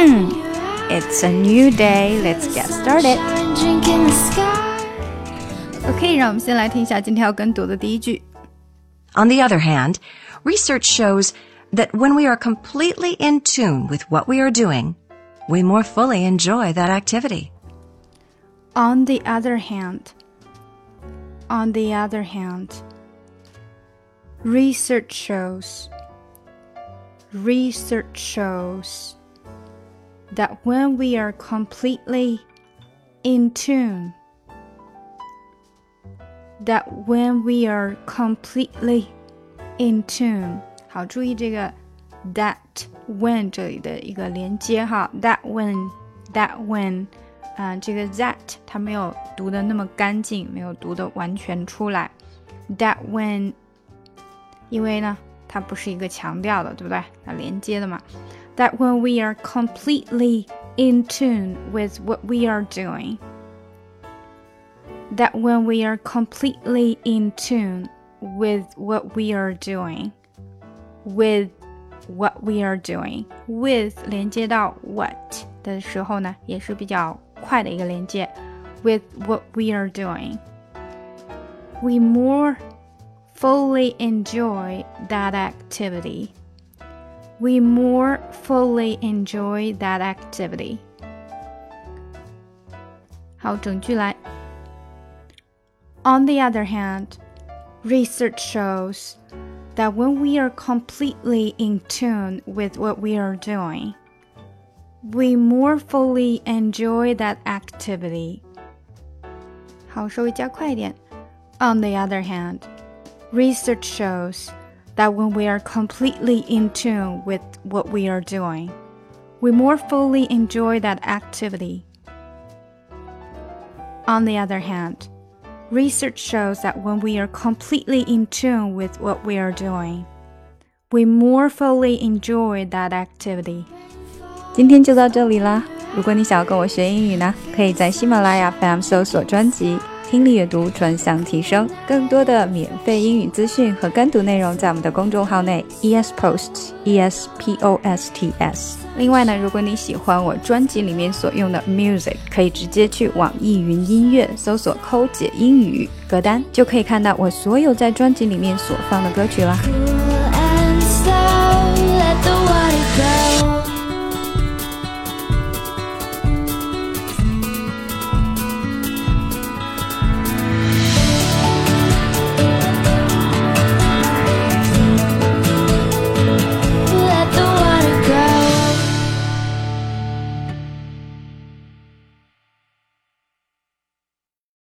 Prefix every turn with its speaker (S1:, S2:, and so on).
S1: It's a new day. Let's get started. OK, 让我们先来听一下今天要跟读的第一句。
S2: On the other hand, research shows that when we are completely in tune with what we are doing, we more fully enjoy that activity.
S1: On the other hand, research shows that when we are completely in tune,好，注意这个 that when 这里的一个连接哈 that when 这个 that 它没有读的那么干净，没有读的完全出来 that when 因为呢它不是一个强调的，对不对？它连接的嘛。That when we are completely in tune with what we are doing. That when we are completely in tune with what we are doing. With what we are doing. With 连接到 what 的时候呢，也是比较快的一个连接。With what we are doing. We more fully enjoy that activity. We more fully enjoy that activity. 好，整句来。On the other hand, research shows that when we are completely in tune with what we are doing, we more fully enjoy that activity. 好，稍微加快一点。On the other hand, research shows that when we are completely in tune with what we are doing, we more fully enjoy that activity. On the other hand, research shows that when we are completely in tune with what we are doing, we more fully enjoy that activity. 今天就到这里啦。如果你想要跟我学英语呢，可以在喜马拉雅 FM 搜索专辑听力阅读专项提升，更多的免费英语资讯和跟读内容在我们的公众号内 ESPosts ESPOSTS。 另外呢，如果你喜欢我专辑里面所用的 music， 可以直接去网易云音乐搜索抠姐英语歌单，就可以看到我所有在专辑里面所放的歌曲啦。